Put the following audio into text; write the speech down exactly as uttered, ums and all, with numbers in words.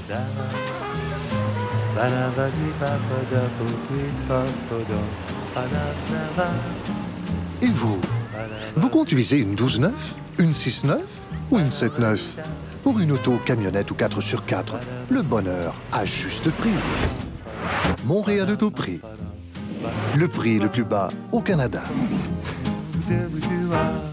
Et vous? Vous conduisez une douze neuf, une six neuf ou une sept neuf? Pour une auto, camionnette ou quatre sur quatre, le bonheur à juste prix. Montréal Autoprix. Le prix le plus bas au Canada.